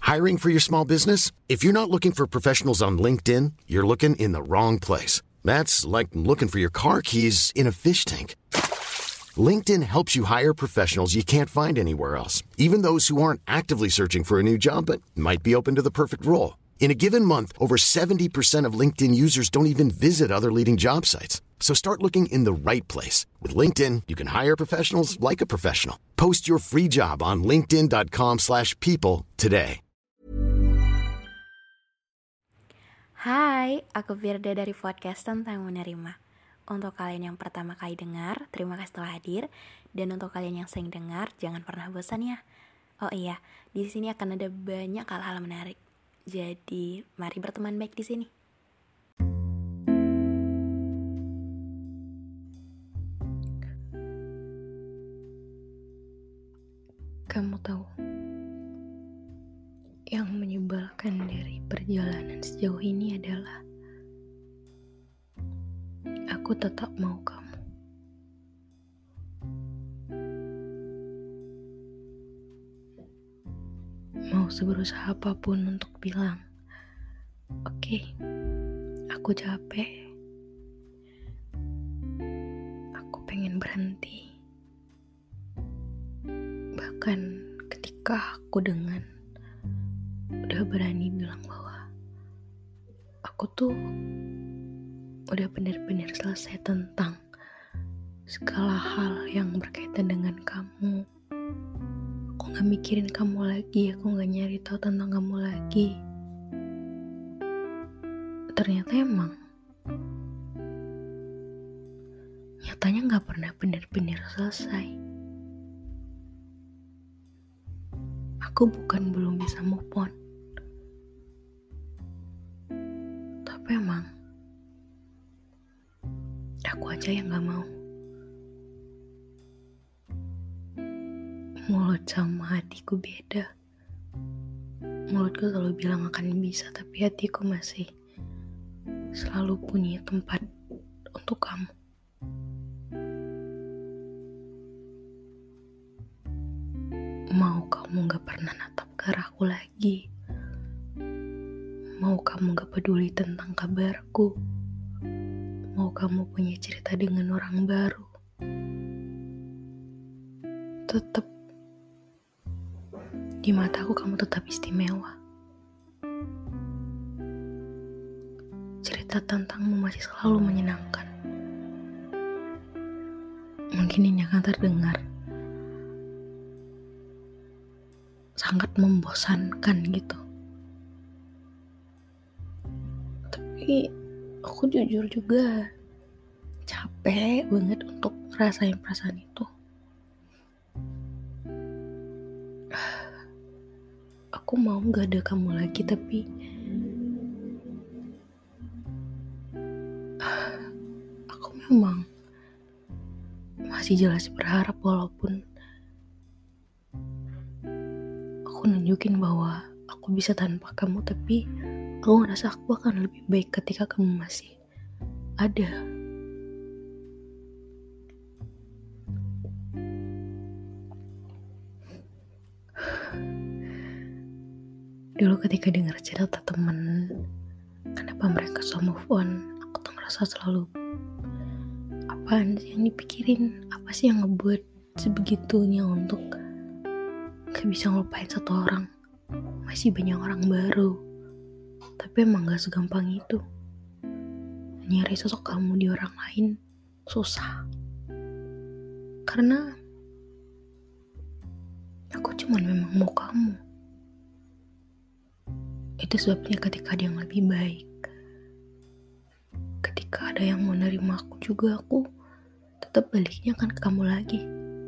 Hiring for your small business? If you're not looking for professionals on LinkedIn, you're looking in the wrong place. That's like looking for your car keys in a fish tank. LinkedIn helps you hire professionals you can't find anywhere else, even those who aren't actively searching for a new job but might be open to the perfect role. In a given month, over 70% of LinkedIn users don't even visit other leading job sites. So start looking in the right place. With LinkedIn, you can hire professionals like a professional. Post your free job on linkedin.com/people today. Hai, aku Firda dari podcast Tentang Menerima. Untuk kalian yang pertama kali dengar, terima kasih telah hadir. Dan untuk kalian yang sering dengar, jangan pernah bosan ya. Oh iya, di sini akan ada banyak hal-hal menarik. Jadi, mari berteman baik di sini. Kamu tahu, yang menyebalkan dari perjalanan sejauh ini adalah aku tetap mau kamu. Mau seberusaha apapun untuk bilang, oke, aku capek. Aku pengen berhenti. Bahkan ketika aku udah berani bilang bahwa aku tuh udah benar-benar selesai tentang segala hal yang berkaitan dengan kamu. Aku gak mikirin kamu lagi, aku gak nyari tahu tentang kamu lagi. Ternyata emang nyatanya gak pernah benar-benar selesai. Aku bukan belum bisa move on, tapi emang aku aja yang gak mau. Mulut sama hatiku beda. Mulutku selalu bilang akan bisa, tapi hatiku masih selalu punya tempat untuk kamu. Mau kamu gak pernah natap ke arahku lagi. Mau kamu gak peduli tentang kabarku. Mau kamu punya cerita dengan orang baru. Tetap di mataku kamu tetap istimewa. Cerita tentangmu masih selalu menyenangkan. Mungkin ini akan terdengar sangat membosankan gitu. Tapi aku jujur juga capek banget untuk ngerasain perasaan itu. Aku mau gak ada kamu lagi, tapi aku memang masih jelas berharap walaupun aku nunjukin bahwa aku bisa tanpa kamu, tapi aku ngerasa aku akan lebih baik ketika kamu masih ada. Dulu ketika dengar cerita temen, kenapa mereka so move on, aku tuh ngerasa selalu, apaan sih yang dipikirin, apa sih yang ngebuat sebegitunya untuk gak bisa ngelupain satu orang. Masih banyak orang baru, tapi emang gak segampang itu. Nyari sosok kamu di orang lain susah, karena aku cuman memang mau kamu. Itu sebabnya ketika ada yang lebih baik, ketika ada yang mau nerima aku juga, aku tetap baliknya kan ke kamu lagi.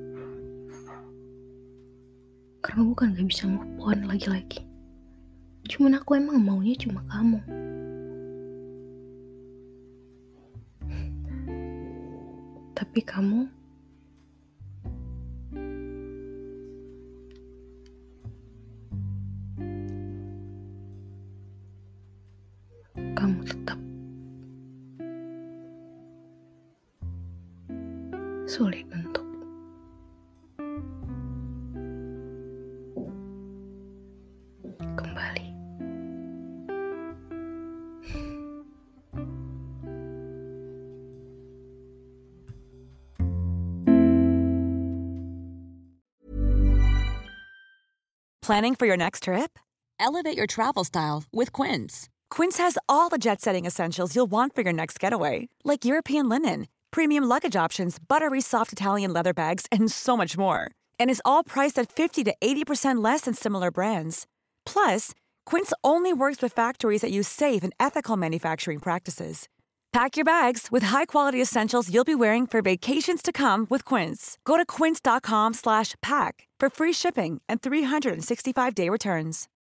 Karena aku kan gak bisa move on lagi-lagi. Cuman aku emang maunya cuma kamu. Tapi kamu tetap sulit untuk kembali. Planning for your next trip? Elevate your travel style with Quince. Quince has all the jet-setting essentials you'll want for your next getaway, like European linen, premium luggage options, buttery soft Italian leather bags, and so much more. And is all priced at 50 to 80% less than similar brands. Plus, Quince only works with factories that use safe and ethical manufacturing practices. Pack your bags with high-quality essentials you'll be wearing for vacations to come with Quince. Go to quince.com/pack for free shipping and 365-day returns.